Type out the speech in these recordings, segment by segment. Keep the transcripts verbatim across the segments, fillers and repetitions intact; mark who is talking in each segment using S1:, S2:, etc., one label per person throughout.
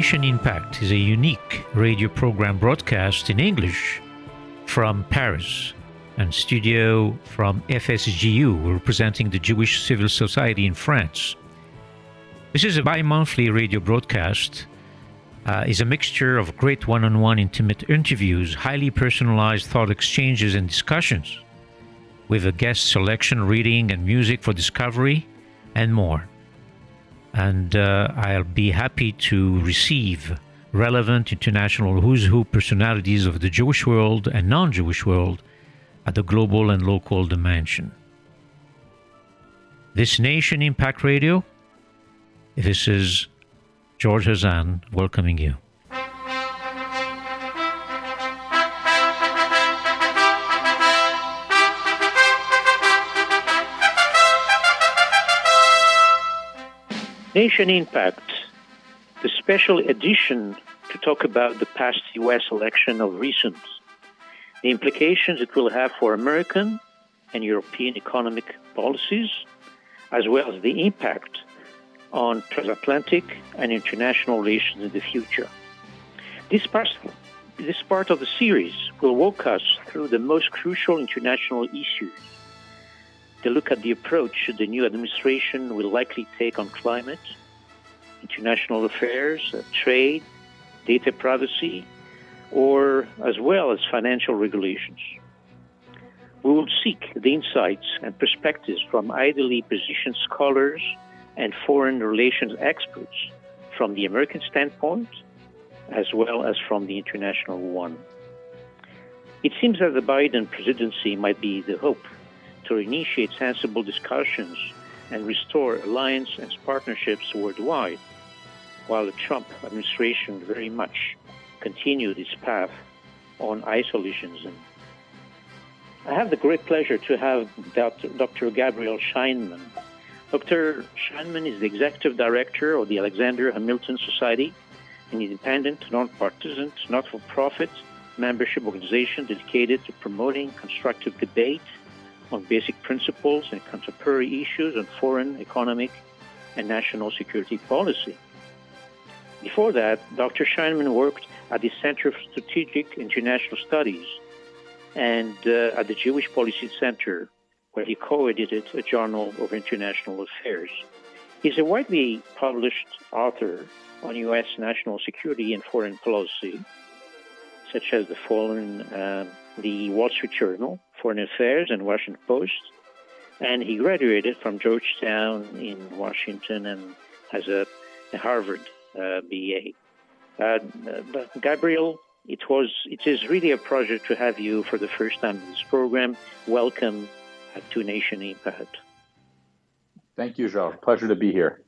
S1: Nation Impact is a unique radio program broadcast in English from Paris and studio from F S G U, representing the Jewish Civil Society in France. This is a bi-monthly radio broadcast. Uh, is a mixture of great one-on-one intimate interviews, highly personalized thought exchanges and discussions, with a guest selection, reading, and music for discovery, and more. And uh, I'll be happy to receive relevant international who's who personalities of the Jewish world and non-Jewish world at the global and local dimension. This Nation Impact Radio, this is George Hazan welcoming you. Nation Impact, the special edition to talk about the past U S election of recent, the implications it will have for American and European economic policies, as well as the impact on transatlantic and international relations in the future. This part, this part of the series will walk us through the most crucial international issues. To look at the approach the new administration will likely take on climate, international affairs, uh, trade, data privacy, or as well as financial regulations. We will seek the insights and perspectives from ideally positioned scholars and foreign relations experts from the American standpoint, as well as from the international one. It seems that the Biden presidency might be the hope to initiate sensible discussions and restore alliance and partnerships worldwide, while the Trump administration very much continued its path on isolationism. I have the great pleasure to have Doctor Gabriel Scheinman. Doctor Scheinman is the Executive Director of the Alexander Hamilton Society, an independent, non-partisan, not-for-profit membership organization dedicated to promoting constructive debate on basic principles and contemporary issues on foreign, economic, and national security policy. Before that, Doctor Scheinman worked at the Center for Strategic International Studies and uh, at the Jewish Policy Center, where he co-edited a Journal of International Affairs. He's a widely published author on U S national security and foreign policy, such as the following, uh, the Wall Street Journal, Foreign Affairs, and Washington Post. And he graduated from Georgetown in Washington and has a, a Harvard uh, B A. Uh, but Gabriel, it was it is really a pleasure to have you for the first time in this program. Welcome to Nation Impact.
S2: Thank you, Jean. Pleasure to be here.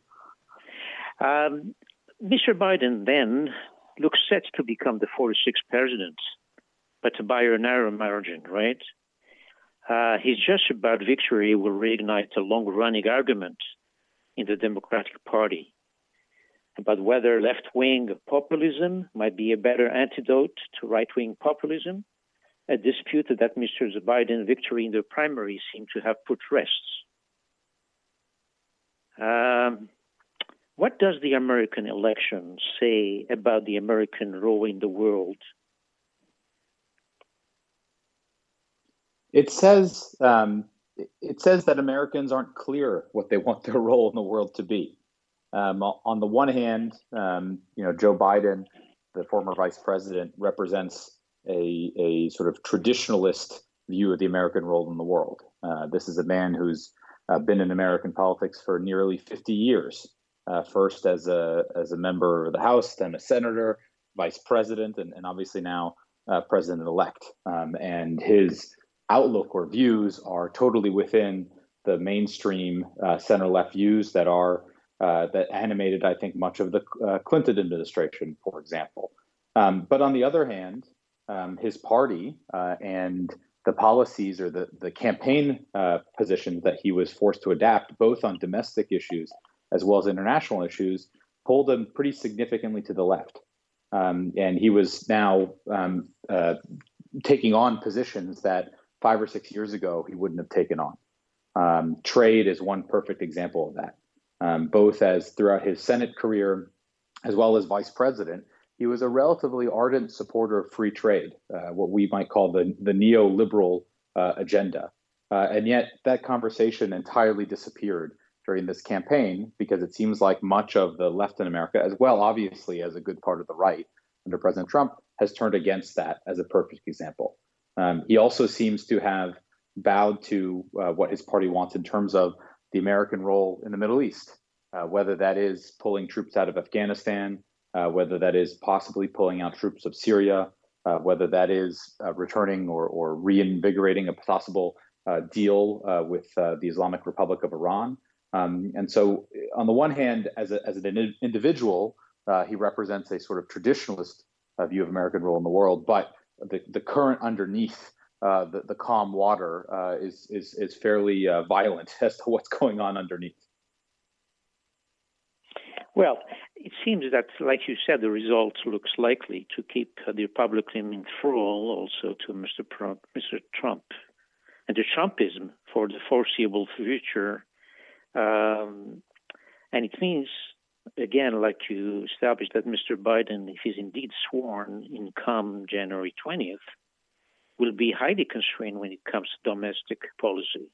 S1: Um, Mister Biden then looks set to become the forty-sixth president, but by a narrow margin, right? Uh, his just about victory will reignite a long-running argument in the Democratic Party about whether left-wing populism might be a better antidote to right-wing populism, a dispute that Mister Biden's victory in the primary seemed to have put rest. Um, what does the American election say about the American role in the world?
S2: It says um, it says that Americans aren't clear what they want their role in the world to be. Um, on the one hand, um, you know, Joe Biden, the former vice president, represents a, a sort of traditionalist view of the American role in the world. Uh, this is a man who's uh, been in American politics for nearly fifty years, uh, first as a as a member of the House, then a senator, vice president, and, and obviously now uh, president-elect. Um, and his outlook or views are totally within the mainstream uh, center-left views that are uh, that animated, I think, much of the uh, Clinton administration, for example. Um, but on the other hand, um, his party uh, and the policies or the, the campaign uh, positions that he was forced to adapt, both on domestic issues as well as international issues, pulled him pretty significantly to the left. Um, and he was now um, uh, taking on positions that five or six years ago he wouldn't have taken on. Um, trade is one perfect example of that. Um, both as throughout his Senate career as well as vice president, he was a relatively ardent supporter of free trade, uh, what we might call the, the neoliberal uh, agenda. Uh, and yet that conversation entirely disappeared during this campaign because it seems like much of the left in America, as well, obviously, as a good part of the right under President Trump, has turned against that as a perfect example. Um, he also seems to have bowed to uh, what his party wants in terms of the American role in the Middle East, uh, whether that is pulling troops out of Afghanistan, uh, whether that is possibly pulling out troops of Syria, uh, whether that is uh, returning or, or reinvigorating a possible uh, deal uh, with uh, the Islamic Republic of Iran. Um, and so on the one hand, as, a, as an individual, uh, he represents a sort of traditionalist uh, view of American role in the world, but the, the current underneath uh, the, the calm water uh, is, is, is fairly uh, violent as to what's going on underneath.
S1: Well, it seems that, like you said, the result looks likely to keep the Republican in thrall also to Mister Trump, Mister Trump and the Trumpism for the foreseeable future. Um, and it means, again, like you established, that Mister Biden, if he's indeed sworn in come January twentieth, will be highly constrained when it comes to domestic policy.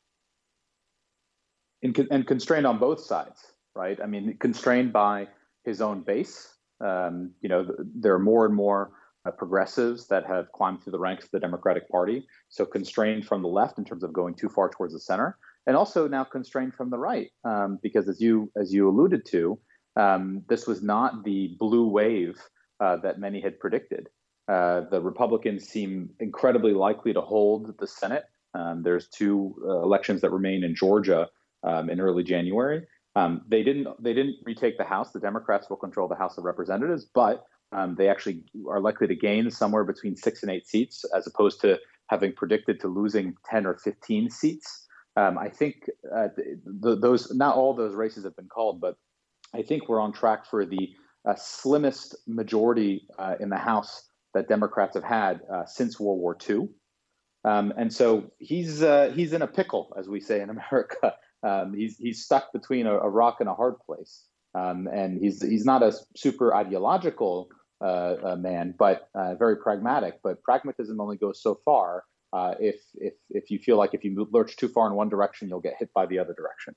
S2: And, and constrained on both sides, right? I mean, constrained by his own base. Um, you know, there are more and more uh, progressives that have climbed through the ranks of the Democratic Party. So constrained from the left in terms of going too far towards the center. And also now constrained from the right, um, because as you as you alluded to, um, this was not the blue wave uh, that many had predicted. Uh, the Republicans seem incredibly likely to hold the Senate. Um, there's two uh, elections that remain in Georgia um, in early January. Um, they didn't they didn't retake the House. The Democrats will control the House of Representatives, but um, they actually are likely to gain somewhere between six and eight seats, as opposed to having predicted to losing ten or fifteen seats. Um, I think uh, the, those not all those races have been called, but I think we're on track for the uh, slimmest majority uh, in the House that Democrats have had uh, since World War Two. Um, and so he's uh, he's in a pickle, as we say in America. Um, he's he's stuck between a, a rock and a hard place. Um, and he's he's not a super ideological uh, uh, man, but uh, very pragmatic. But pragmatism only goes so far. Uh, if if if you feel like if you lurch too far in one direction, you'll get hit by the other direction.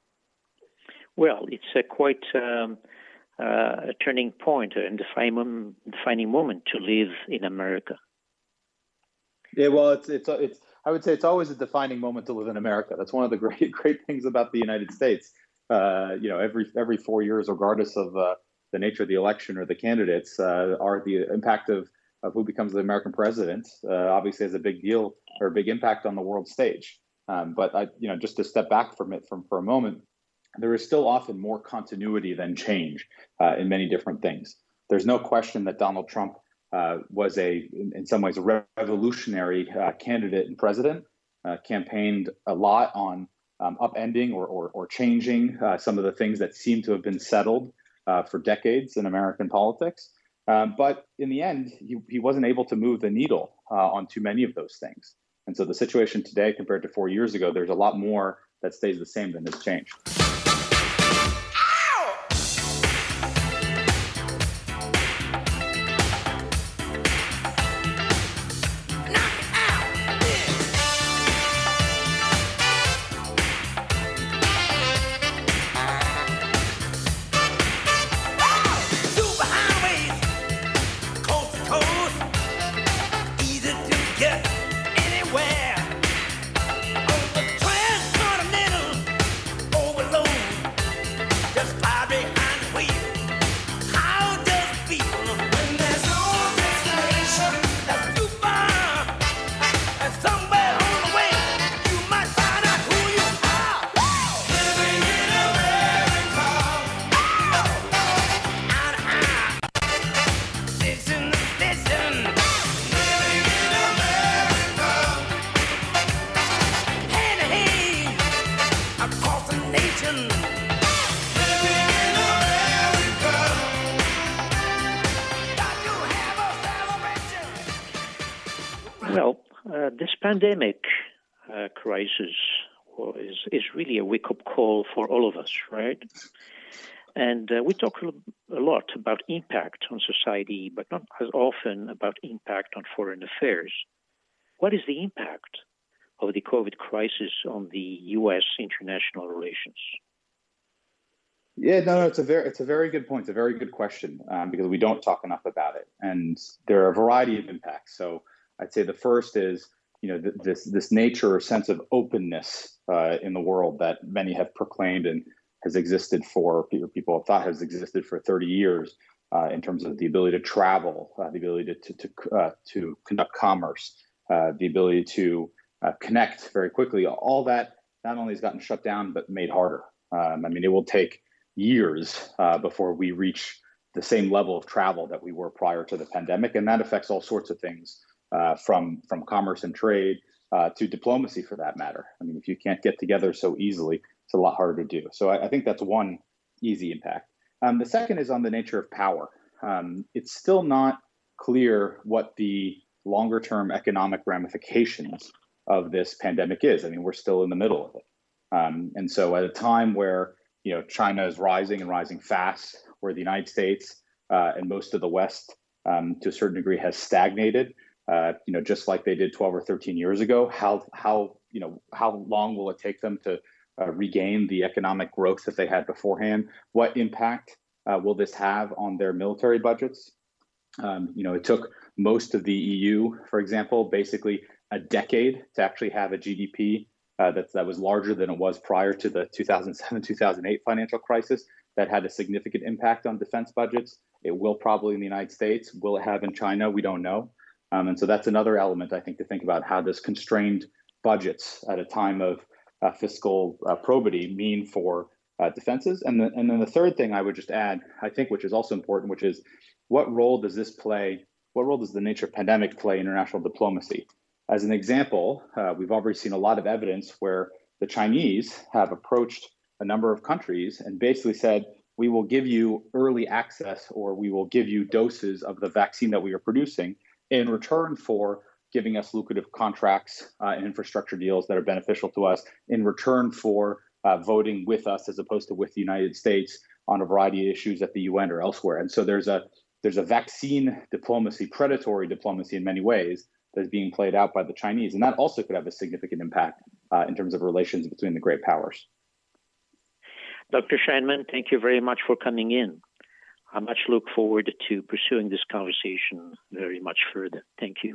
S1: Well, it's a quite um, uh, a turning point and defining, defining moment to live in America.
S2: Yeah, well, it's it's it's. I would say it's always a defining moment to live in America. That's one of the great great things about the United States. Uh, you know, every every four years, regardless of uh, the nature of the election or the candidates, uh, are the impact of of who becomes the American president, uh, obviously has a big deal or a big impact on the world stage. Um, but I, you know, just to step back from it from for a moment, there is still often more continuity than change uh, in many different things. There's no question that Donald Trump uh, was a, in, in some ways, a revolutionary uh, candidate and president, uh, campaigned a lot on um, upending or, or, or changing uh, some of the things that seem to have been settled uh, for decades in American politics. Um, but in the end, he, he wasn't able to move the needle uh, on too many of those things. And so the situation today compared to four years ago, there's a lot more that stays the same than has changed.
S1: Well, uh, this pandemic uh, crisis is, is really a wake-up call for all of us, right? And uh, we talk a lot about impact on society, but not as often about impact on foreign affairs. What is the impact of the COVID crisis on the U S international relations?
S2: Yeah, no, no, it's a very, it's a very good point. It's a very good question um, because we don't talk enough about it, and there are a variety of impacts. So I'd say the first is, you know, th- this this nature or sense of openness uh, in the world that many have proclaimed and has existed for people have thought has existed for thirty years uh, in terms of the ability to travel, uh, the ability to to to, uh, to conduct commerce, uh, the ability to uh, connect very quickly. All that not only has gotten shut down but made harder. Um, I mean, it will take years uh, before we reach the same level of travel that we were prior to the pandemic, and that affects all sorts of things, uh, from from commerce and trade uh, to diplomacy, for that matter. I mean, if you can't get together so easily, it's a lot harder to do. So I, I think that's one easy impact. Um, the second is on the nature of power. Um, it's still not clear what the longer term economic ramifications of this pandemic is. I mean, we're still in the middle of it. Um, and so at a time where you know, China is rising and rising fast, where the United States uh, and most of the West, um, to a certain degree, has stagnated. Uh, you know, just like they did twelve or thirteen years ago. How how you know how long will it take them to uh, regain the economic growth that they had beforehand? What impact uh, will this have on their military budgets? Um, you know, it took most of the E U, for example, basically a decade to actually have a G D P Uh, that, that was larger than it was prior to the two thousand seven, two thousand eight financial crisis. That had a significant impact on defense budgets. It will probably in the United States. Will it have in China? We don't know. Um, and so that's another element, I think, to think about. How does constrained budgets at a time of uh, fiscal uh, probity mean for uh, defenses? And, the, and then the third thing I would just add, I think, which is also important, which is what role does this play? What role does the nature of pandemic play in international diplomacy? As an example, uh, we've already seen a lot of evidence where the Chinese have approached a number of countries and basically said, we will give you early access, or we will give you doses of the vaccine that we are producing in return for giving us lucrative contracts uh, and infrastructure deals that are beneficial to us, in return for uh, voting with us as opposed to with the United States on a variety of issues at the U N or elsewhere. And so there's a there's a vaccine diplomacy, predatory diplomacy in many ways, that's being played out by the Chinese. And that also could have a significant impact uh, in terms of relations between the great powers.
S1: Doctor Scheinman, thank you very much for coming in. I much look forward to pursuing this conversation very much further. Thank you.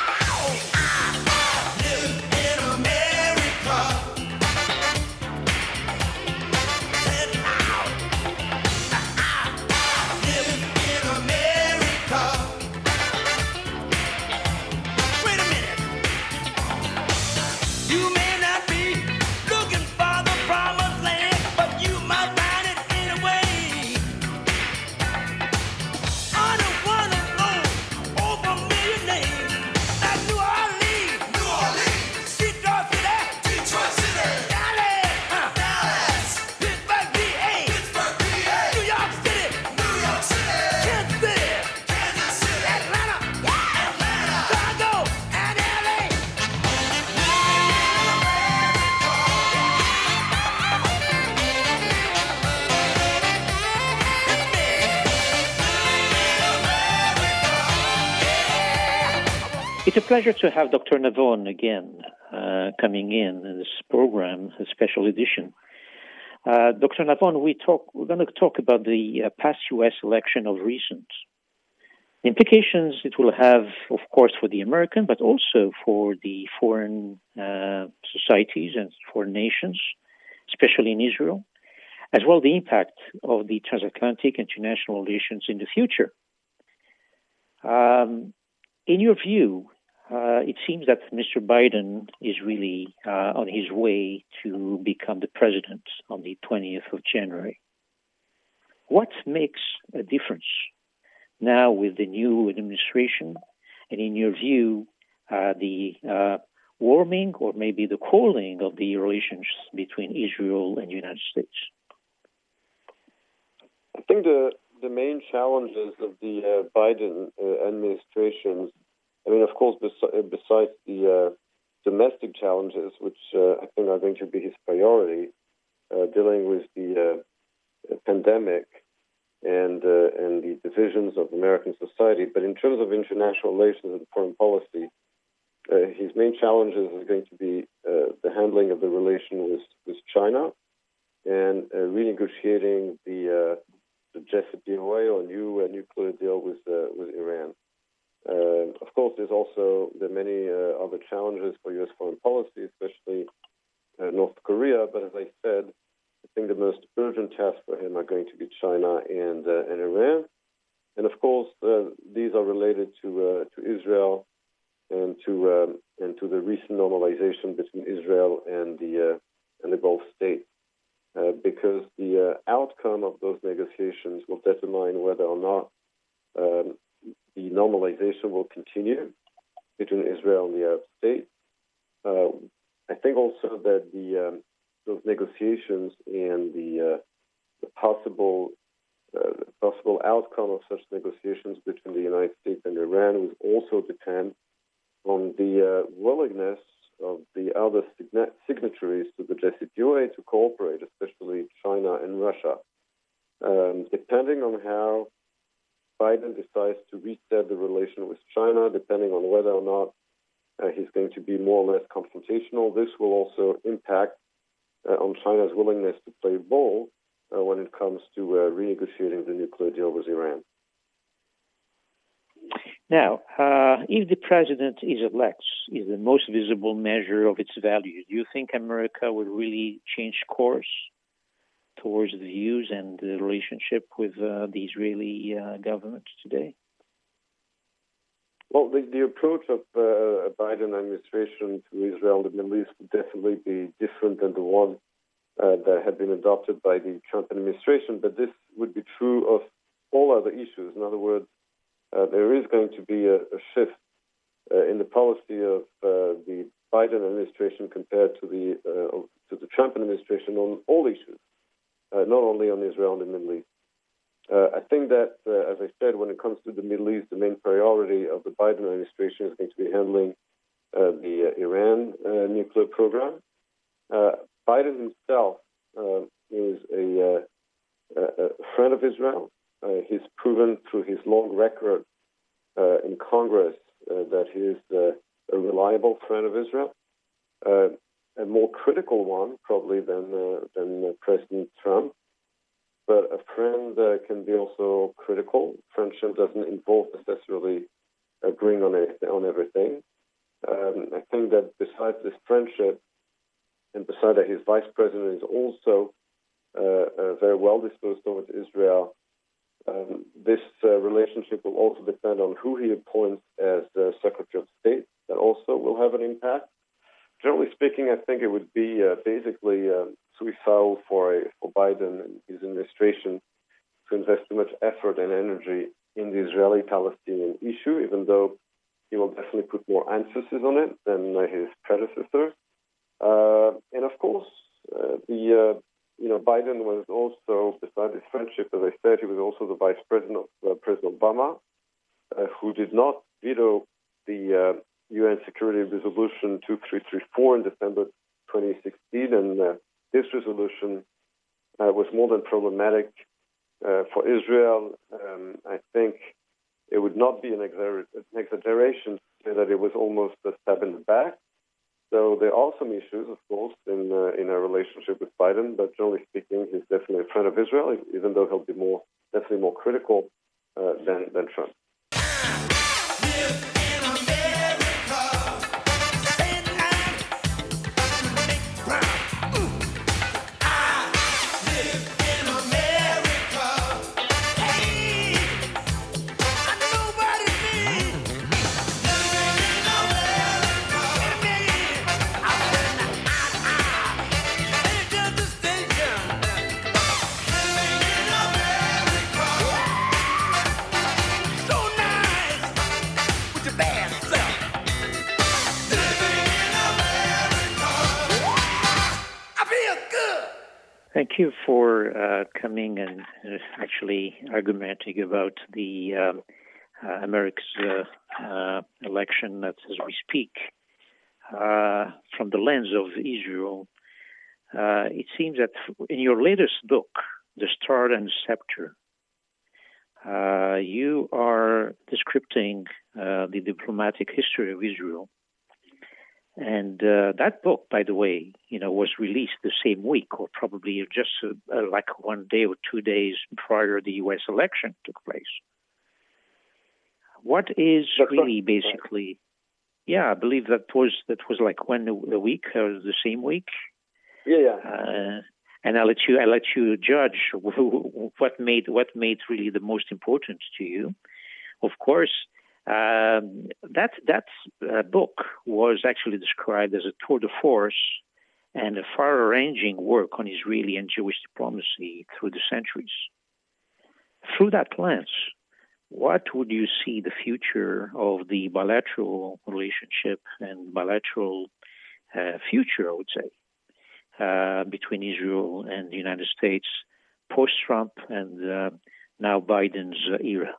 S1: It's a pleasure to have Doctor Navon again uh, coming in in this program, a special edition. Uh, Doctor Navon, we talk, we're going to talk about the uh, past U S election of recent. The implications it will have, of course, for the American, but also for the foreign uh, societies and foreign nations, especially in Israel, as well the impact of the transatlantic international relations in the future. Um, in your view, uh, it seems that Mister Biden is really uh, on his way to become the president on the twentieth of January. What makes a difference now with the new administration, and in your view, uh, the uh, warming or maybe the cooling of the relations between Israel and the United States?
S3: I think the the main challenges of the uh, Biden uh, administration, I mean, of course, bes- besides the uh, domestic challenges, which uh, I think are going to be his priority, uh, dealing with the uh, pandemic and uh, and the divisions of American society. But in terms of international relations and foreign policy, uh, his main challenges are going to be uh, the handling of the relation with, with China and uh, renegotiating the uh, the J C P O A or new uh, nuclear deal with uh, with Iran. Uh, of course, there's also there are many uh, other challenges for U S foreign policy, especially uh, North Korea. But as I said, I think the most urgent tasks for him are going to be China and uh, and Iran, and of course uh, these are related to uh, to Israel and to um, and to the recent normalization between Israel and the uh, and the Gulf states, uh, because the uh, outcome of those negotiations will determine whether or not um, the normalization will continue between Israel and the Arab states. Uh, I think also that the um, those negotiations and the, uh, the possible uh, possible outcome of such negotiations between the United States and Iran will also depend on the uh, willingness of the other signa- signatories to the J C P O A to cooperate, especially China and Russia. Um, depending on how Biden decides to reset the relation with China, depending on whether or not uh, he's going to be more or less confrontational, this will also impact uh, on China's willingness to play ball uh, when it comes to uh, renegotiating the nuclear deal with Iran.
S1: Now, uh, if the president is elected, is the most visible measure of its values, do you think America will really change course towards the views and the relationship with uh, the Israeli uh, government today?
S3: Well, the, the approach of uh, Biden administration to Israel and the Middle East would definitely be different than the one uh, that had been adopted by the Trump administration, but this would be true of all other issues. In other words, uh, there is going to be a, a shift uh, in the policy of uh, the Biden administration compared to the uh, to the Trump administration on all issues, uh, not only on Israel and the Middle East. Uh, I think that, uh, as I said, when it comes to the Middle East, the main priority of the Biden administration is going to be handling uh, the uh, Iran uh, nuclear program. Uh, Biden himself uh, is a, uh, a friend of Israel. Uh, he's proven through his long record uh, in Congress uh, that he is uh, a reliable friend of Israel, uh, a more critical one probably than uh, than uh, President Trump. But a friend uh, can be also critical. Friendship doesn't involve necessarily agreeing on anything, on everything. Um, I think that besides this friendship, and besides that, his vice president is also uh, uh, very well disposed towards Israel. Um, this uh, relationship will also depend on who he appoints as uh, Secretary of State. That also will have an impact. Generally speaking, I think it would be uh, basically uh, suicidal for, a, for Biden and his administration to invest too much effort and energy in the Israeli-Palestinian issue, even though he will definitely put more emphasis on it than uh, his predecessor. Uh, and of course, uh, the uh, you know Biden was also, besides his friendship, as I said, he was also the vice president of uh, President Obama, uh, who did not veto the uh, U N Security Resolution two three three four in December twenty sixteen, and uh, this resolution uh, was more than problematic uh, for Israel. Um, I think it would not be an, exagger- an exaggeration to say that it was almost a stab in the back. So there are some issues, of course, in uh, in our relationship with Biden, but generally speaking, he's definitely a friend of Israel, even though he'll be more definitely more critical uh, than than Trump.
S1: Thank you for uh, coming and uh, actually arguing about the um, uh, America's uh, uh, election as we speak. Uh, from the lens of Israel, uh, it seems that in your latest book, The Star and the Scepter. Uh, you are describing uh, the diplomatic history of Israel. And uh, that book, by the way, you know, was released the same week, or probably just uh, uh, like one day or two days prior the U S election took place. What is
S3: That's
S1: really
S3: right.
S1: basically, yeah, I believe that was that was like when the, the week or the same week.
S3: Yeah, yeah.
S1: Uh, and I let you I let you judge what made what made really the most important to you. Of course. Um, that that uh, book was actually described as a tour de force and a far-ranging work on Israeli and Jewish diplomacy through the centuries. Through that lens, what would you see the future of the bilateral relationship and bilateral uh, future, I would say, uh, between Israel and the United States post-Trump and uh, now Biden's uh, era?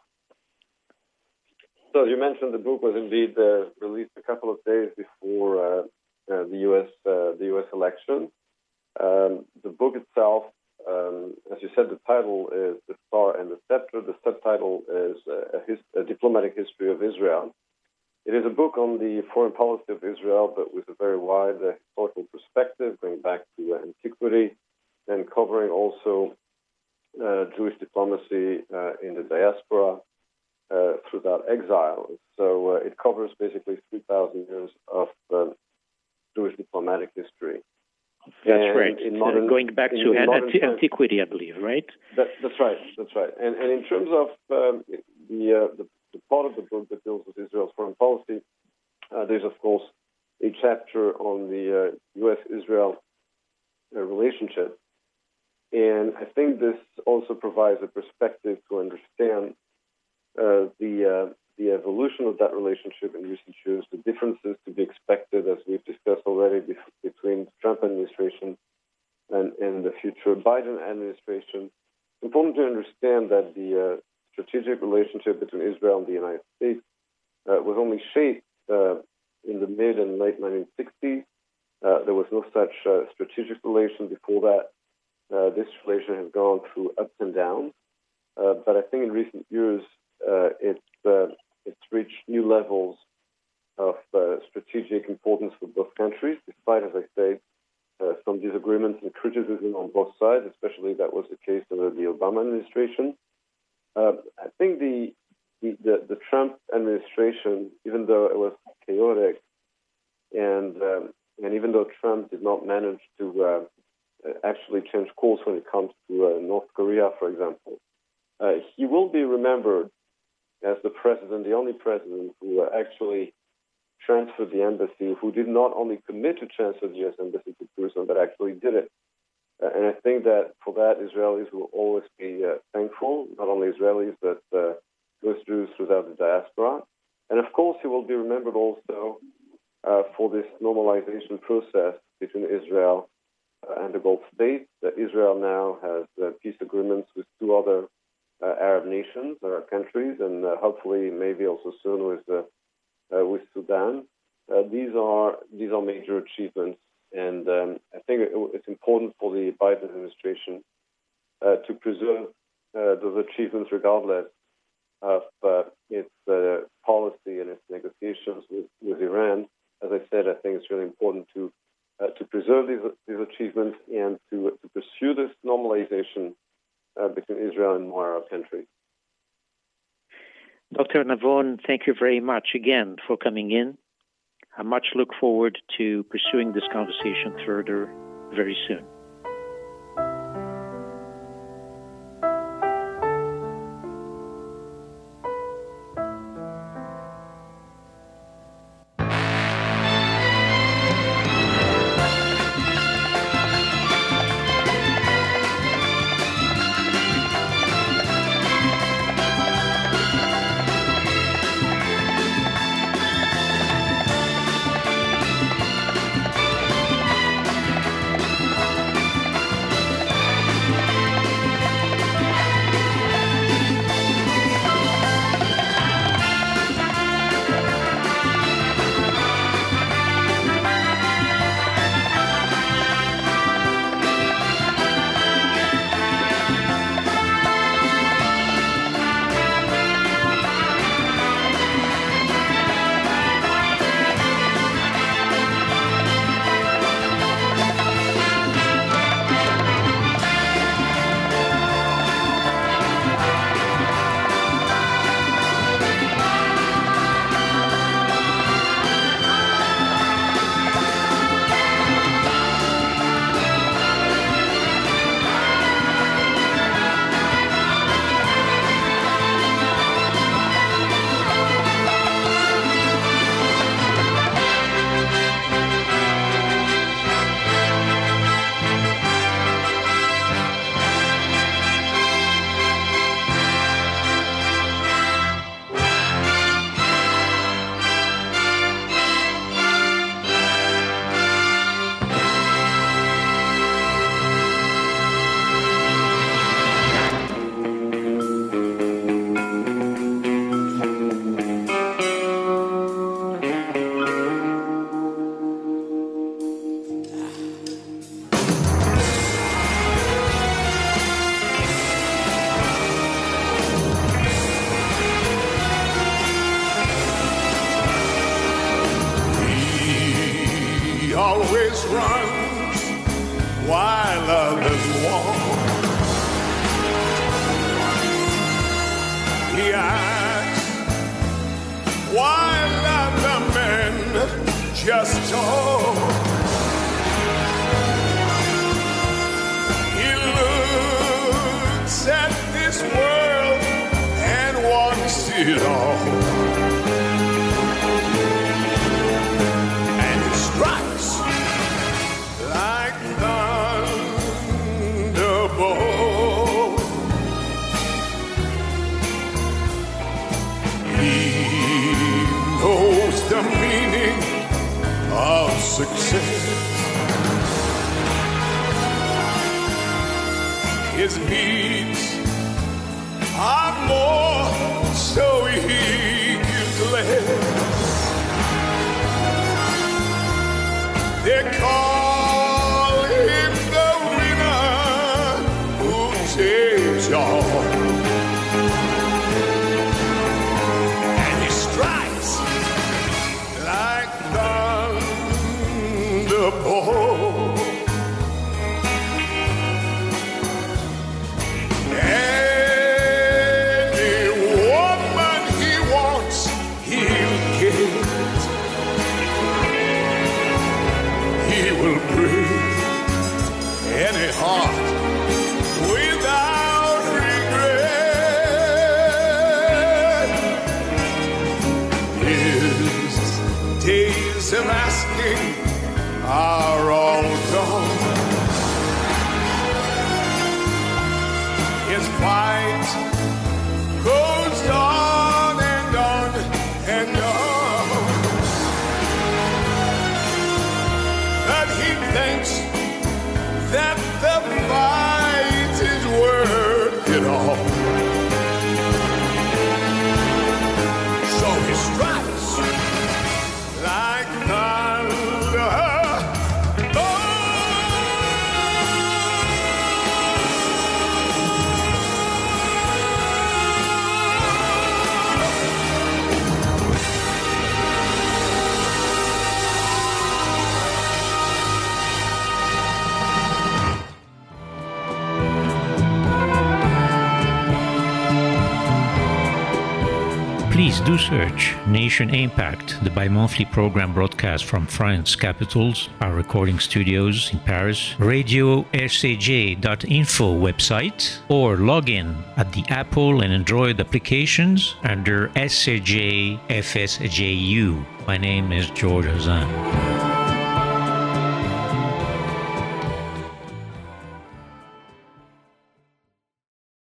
S3: So you mentioned the book was indeed uh, released a couple of days before uh, uh, the U S uh, the U S election. Um, the book itself, um, as you said, the title is "The Star and the Scepter." The subtitle is uh, a, his, a Diplomatic History of Israel. It is a book on the foreign policy of Israel, but with a very wide uh, historical perspective, going back to uh, antiquity, and covering also uh, Jewish diplomacy uh, in the diaspora. Uh, throughout exile. So uh, it covers basically three thousand years of uh, Jewish diplomatic history.
S1: That's
S3: and
S1: right.
S3: In modern,
S1: uh, going back
S3: in,
S1: to
S3: in
S1: an-
S3: modern
S1: antiquity, I believe, right?
S3: That, that's right. That's right. And, and in terms of um, the, uh, the the part of the book that deals with Israel's foreign policy, uh, there's of course a chapter on the uh, U S Israel uh, relationship, and I think this also provides a perspective to understand Uh, the uh, the evolution of that relationship in recent years, the differences to be expected, as we've discussed already, bef- between the Trump administration and, and the future Biden administration. It's important to understand that the uh, strategic relationship between Israel and the United States uh, was only shaped uh, in the mid and late nineteen sixties. Uh, there was no such uh, strategic relation before that. Uh, this relation has gone through ups and downs, uh, but I think in recent years, Uh, it's uh, it's reached new levels of uh, strategic importance for both countries, despite, as I say, uh, some disagreements and criticism on both sides. Especially that was the case under the Obama administration. Uh, I think the, the the the Trump administration, even though it was chaotic, and um, and even though Trump did not manage to uh, actually change course when it comes to uh, North Korea, for example, uh, he will be remembered as the president, the only president who uh, actually transferred the embassy, who did not only commit to transfer the U S embassy to Jerusalem, but actually did it. Uh, and I think that for that, Israelis will always be uh, thankful, not only Israelis, but uh, most Jews throughout the diaspora. And of course, he will be remembered also uh, for this normalization process between Israel uh, and the Gulf states. That Israel now has uh, peace agreements with two other Uh, Arab nations, Arab countries, and uh, hopefully, maybe also soon with uh, uh, with Sudan. Uh, these are these are major achievements, and um, I think it, it's important for the Biden administration uh, to preserve uh, those achievements, regardless of uh, its uh, policy and its negotiations with, with Iran. As I said, I think it's really important to uh, to preserve these these achievements and to to pursue this normalization Uh, between Israel and more Arab countries.
S1: Doctor Navon, thank you very much again for coming in. I much look forward to pursuing this conversation further very soon.
S4: always runs while others walk. He acts while other men just talk. He looks at this world and wants it all. And he strikes like thunderbolt. He knows the meaning of success. His needs are more, so he gives less. They call him the winner who takes all. And he strikes like thunderbolt. Are all gone. His fight goes on and on and on. But he thinks that the fight is worth it all. So he strikes like thunder.
S1: Please do search Nation Impact, the bi-monthly program broadcast from France's capitals, our recording studios in Paris, radio s c j dot info website, or log in at the Apple and Android applications under S C J F S J U. My name is George Hazan.